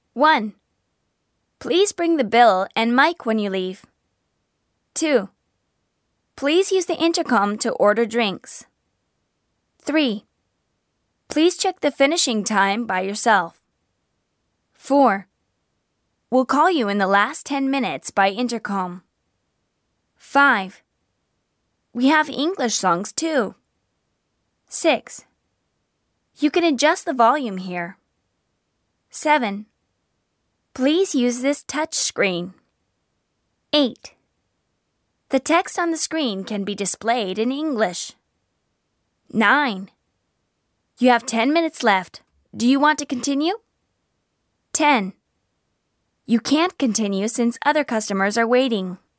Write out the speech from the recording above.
1. Please bring the bill and mic when you leave. 2. Please use the intercom to order drinks. 3. Please check the finishing time by yourself. 4. We'll call you in the last 10 minutes by intercom. 5. We have English songs too. 6. You can adjust the volume here. 7. Please use this touch screen. 8. The text on the screen can be displayed in English. 9. You have 10 minutes left. Do you want to continue? 10. You can't continue since other customers are waiting.